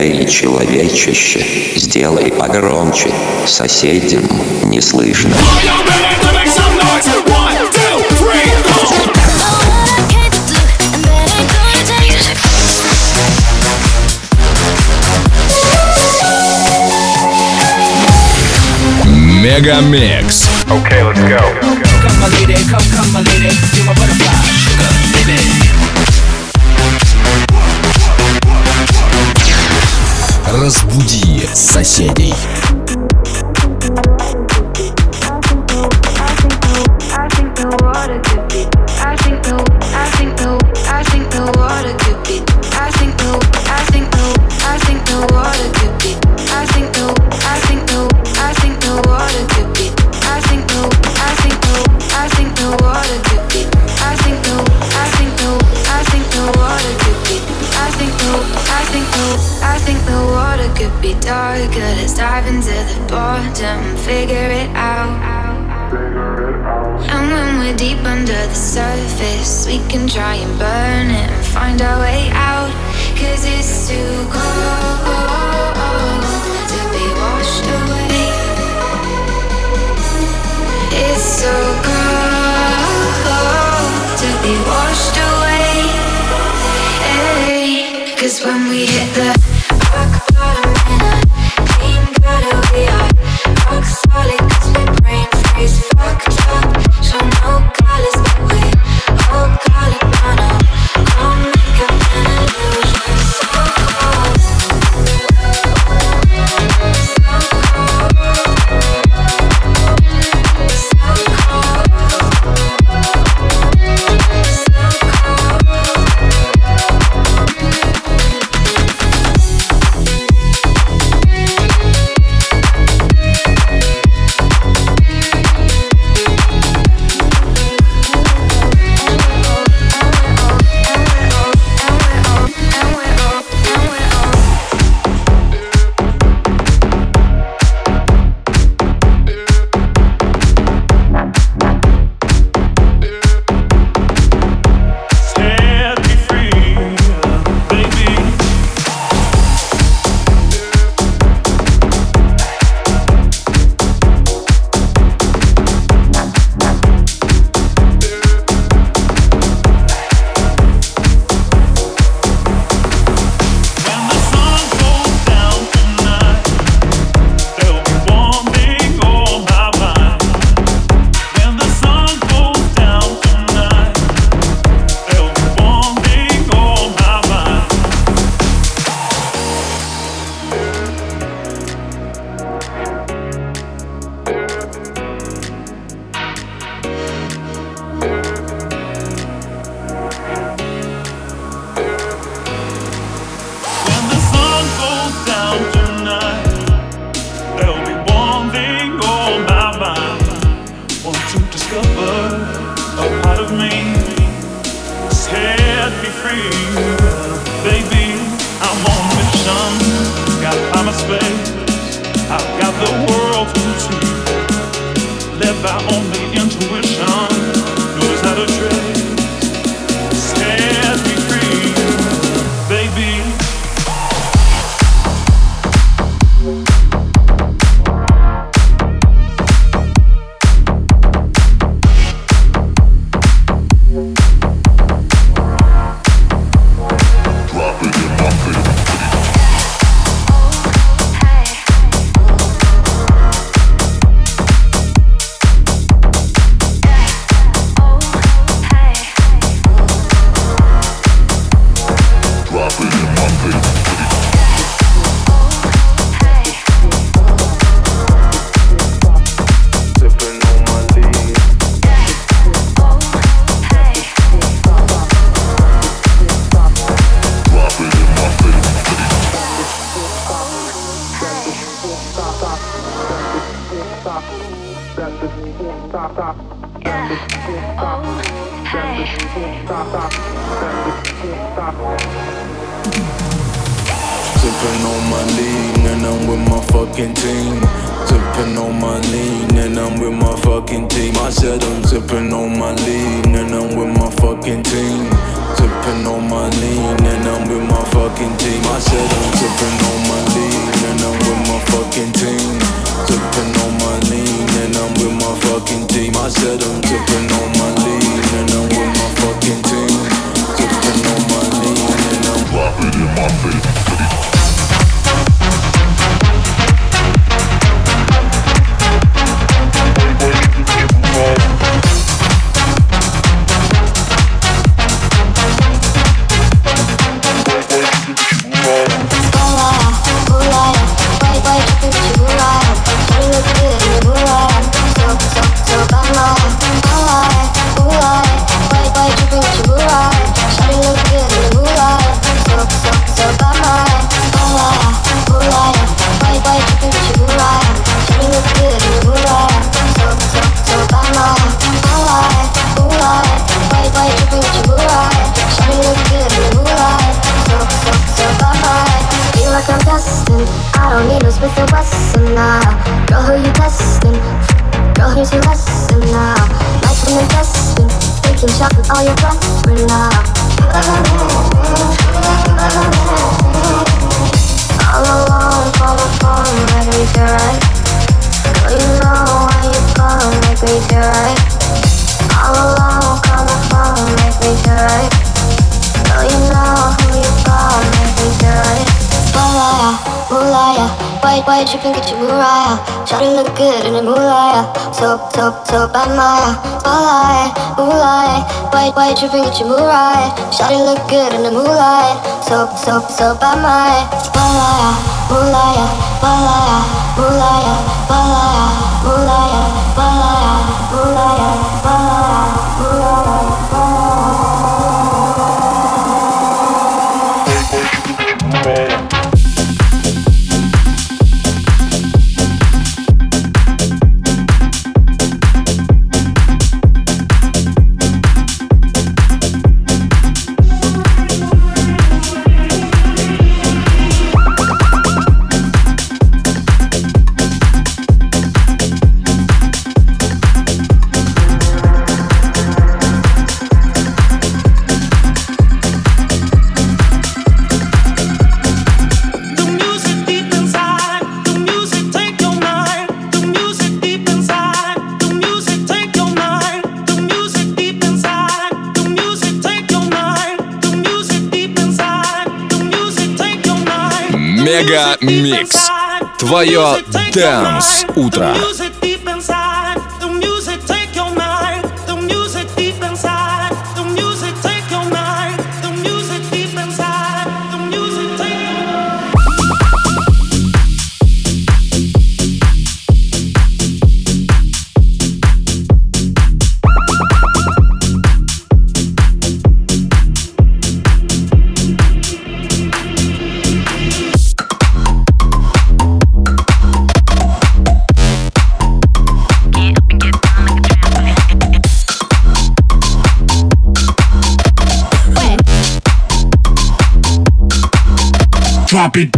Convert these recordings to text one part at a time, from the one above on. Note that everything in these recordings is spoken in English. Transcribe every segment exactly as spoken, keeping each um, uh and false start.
Эй, человечище, сделай погромче, соседям не слышно. Мегамикс. Okay, let's go. Come my lady, come, come my lady, you're my butterfly, sugar, baby. Разбуди соседей. Let's dive into the bottom, figure it out. And when we're deep under the surface, we can try and burn it and find our way out. Cause it's too cold to be washed away. It's so cold to be washed away. Hey, cause when we hit the rock bottom we are rock solid, cause we brain freeze fucked up. Show no colors, but we all call it mono. Don't make up an illusion. So cold, so cold, so Sipping on my lean and I'm with my fucking team. Sipping on my lean and I'm with my fucking team. I said I'm sipping on my lean and I'm with my fucking team. Sipping on my lean and I'm with my fucking team. I said I'm sipping on destined. I don't need no Smith and Wesson now. Girl, who you testing? Girl, here's your lesson now. Nights when you're destined, taking shots with all your brethren now. All alone, call the phone, make me feel right. Girl, you know when you call, make me feel right. All alone, call the phone, make me feel right. Girl, you know who you call, make me feel right. Moolaya, moolaya, white, white dripping, get your Mariah. Shawty look good in the moolaya, so, so, so bad Maya. Moolaya, moolaya, white, white dripping, get your Mariah. Shawty look good in the moolaya, so, so, so bad Maya. Moolaya, moolaya, moolaya, moolaya, moolaya, moolaya, moolaya, moolaya, moolaya, moolaya. Мега Микс. Твое Dance утро. Drop it.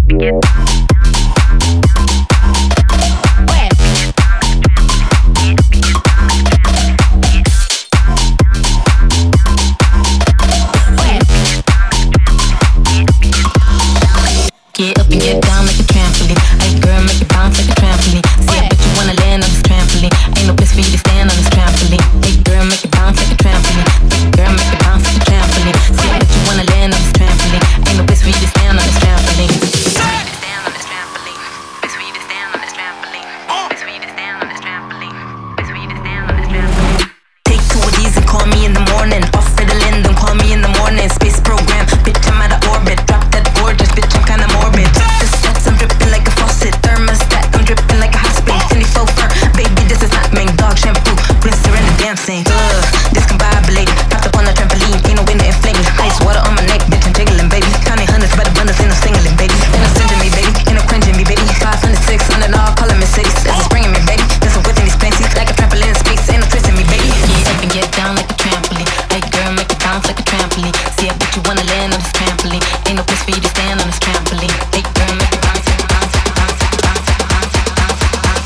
Get up and get down like a trampoline. Hey girl, make it bounce like a trampoline. See, I bet you wanna land on this trampoline. Ain't no place for you to stand on this trampoline. Hey girl, make it bounce like a trampoline. Hey girl, make it bounce like a trampoline. See, I bet you wanna land on this trampoline. Ain't no place for you to stand on this trampoline. Stand on this trampoline. Place for you to stand on this trampoline. Place for you to stand on this trampoline. Place for you to stand on this trampoline. Take two of these and call me in the morning. Off Ritalin, don't call me in the morning. Space program, bitch, I'm out of orbit. Drop that gorgeous, bitch, I'm kinda morbid. The stats, I'm dripping like a faucet. Thermostat, I'm dripping like a hot spring. Cindy Fofer, baby, this is not mink. Dog shampoo, rinser and the dancing. Ugh, discombobulated. Popped up on the trampoline, ain't no wind to inflame me. Ice water on my neck, bitch, I'm jiggling, baby. Counting hundreds by the abundance, ain't no singling, baby. Ain't no stinging me, baby, ain't no cringing me, baby. Five hundred, six hundred, all calling me cities. This is bringing me, baby. This is within these panties, like a trampoline in space. Ain't no twisting me, baby. Get up and get down like a trampoline. Hey girl, make it bounce like a trampoline. See, I bet you wanna land on this trampoline. Ain't no place for you to stand on this trampoline. Hey girl, make it bounce, make it bounce, make it bounce, make it bounce, make it bounce, make it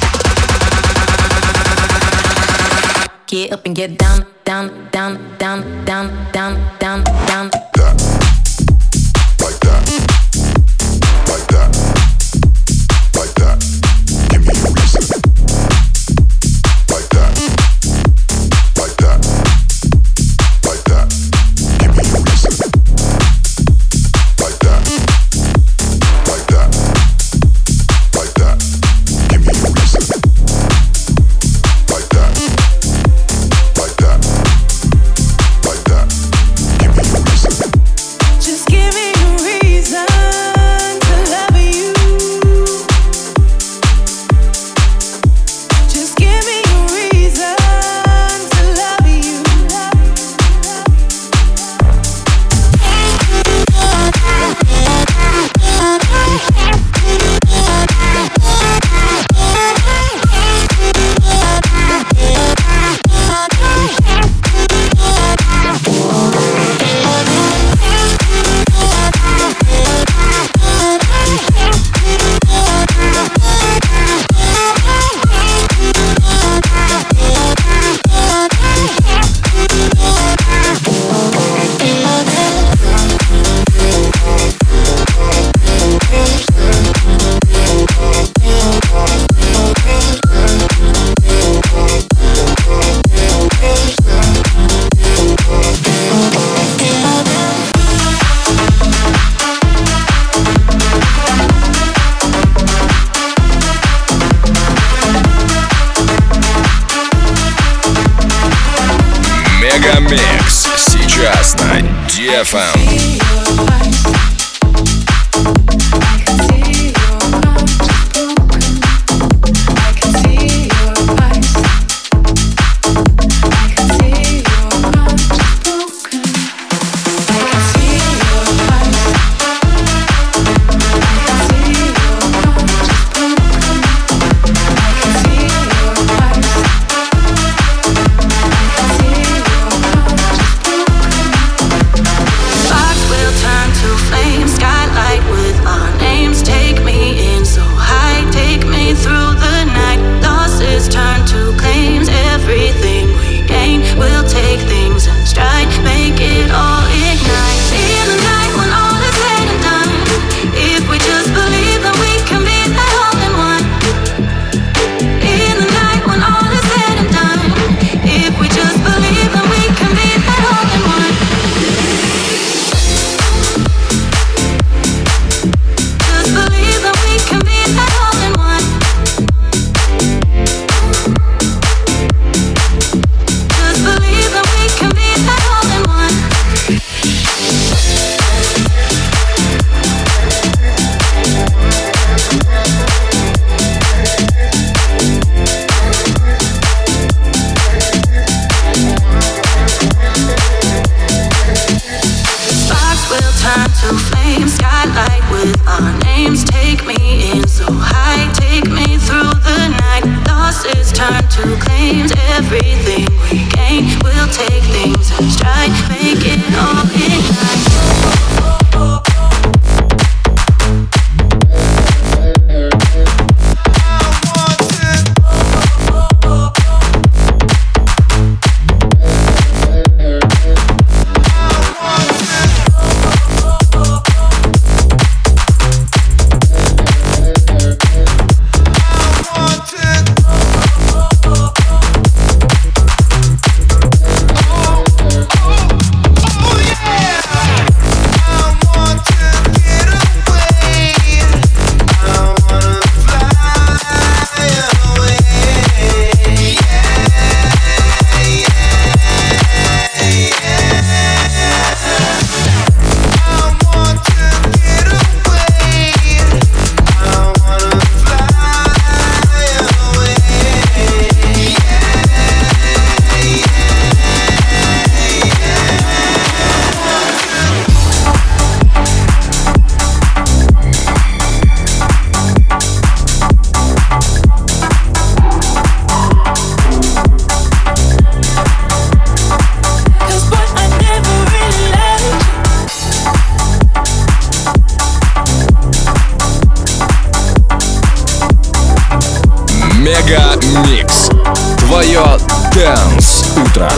bounce, make it bounce. Get up and get down, down, down, down, down, down, down, down. Like that, like that, like that. Give me a reason. Like that, like that, like that. Give me a reason. Like that, like that, like that. Give me a reason. Like that, like that, like that. Give me a reason. ди эф эм. Мега Микс. Твое Dance утро.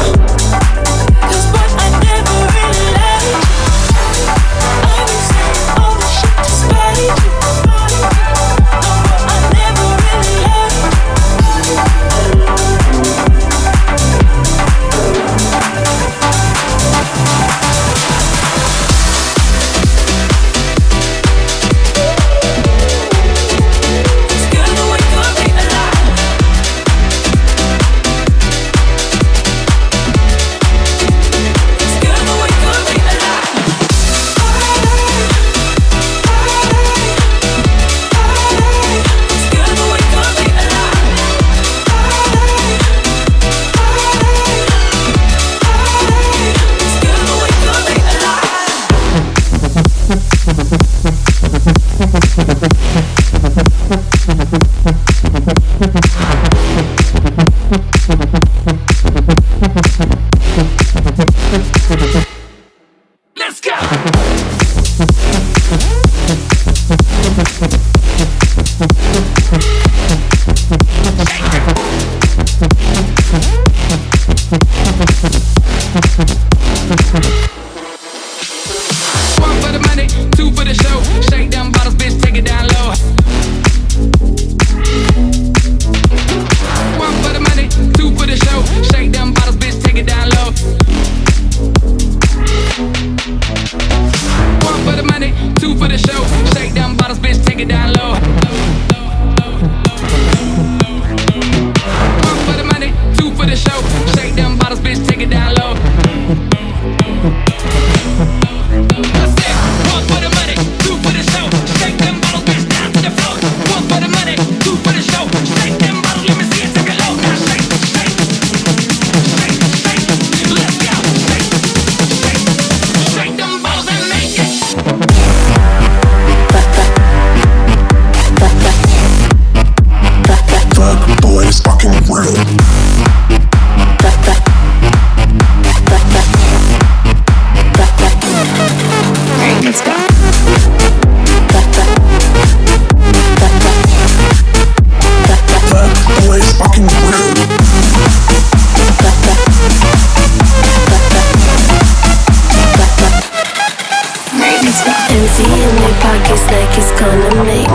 Alive.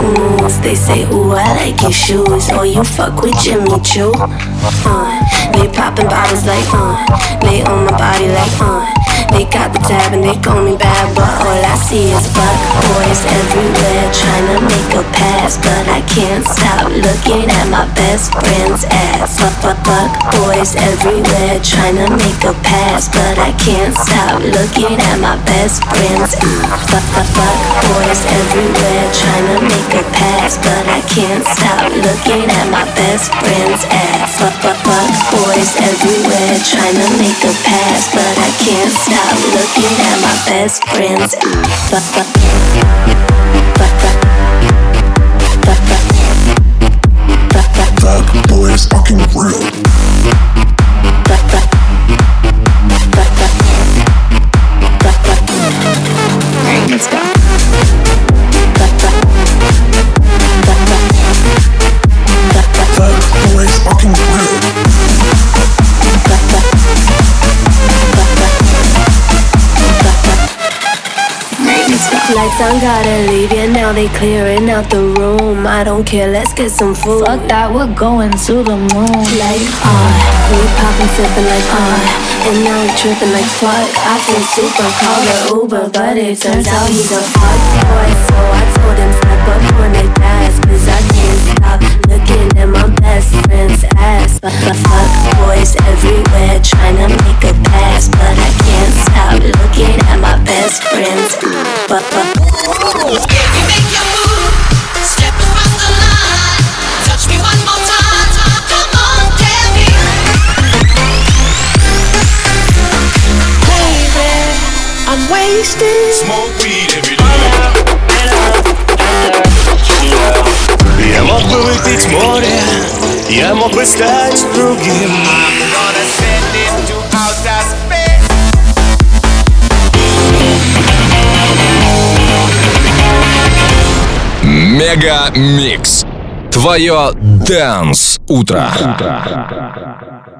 moves. They say, ooh, I like your shoes. Or you fuck with Jimmy Choo. Uh, they popping bottles like, uh. They on my body like, uh. They got the tab and they call me bad, but all I see is fuck boys everywhere trying to make a pass, but I can't stop looking at my best friend's ass. Fuck, fuck, fuck boys everywhere trying to make a pass, but I can't stop looking at my best friend's ass. Fuck, fuck, fuck boys everywhere trying to make a pass, but I can't stop looking at my best friend's ass. Fuck, fuck, fuck boys everywhere trying to make a pass, but I can't stop looking at my best friend's ass. Fuck, fuck, fuck, fuck, fuck, fuck, That boy is fucking real. fuck, fuck, fuck, fuck, fuck, fuck. Alright, let's go. Fuck, fuck, fuck, fuck, fuck, fuck. That boy is fucking real. Lights on, gotta leave, yeah, now they clearing out the room. I don't care, let's get some food. Fuck that, we're going to the moon. Like, ah, we poppin', sippin' like, ah, and now we trippin' like, fuck. I feel super, call the Uber, but it turns out he's a fuck boy. So I told him, step up on that gas, cause I can't stop looking at my best friend's ass. But the fuck boys everywhere tryna make a pass, but I can't stop looking at my best friend's ass. But, but If you make your move, step across the line, touch me one more time, come on, tell me. Baby, I'm wasted. Smoke weed every day. Я мог бы выпить море, я мог бы стать другим. I'm gonna send it to outer space. Мега Микс. Твое Dance утро.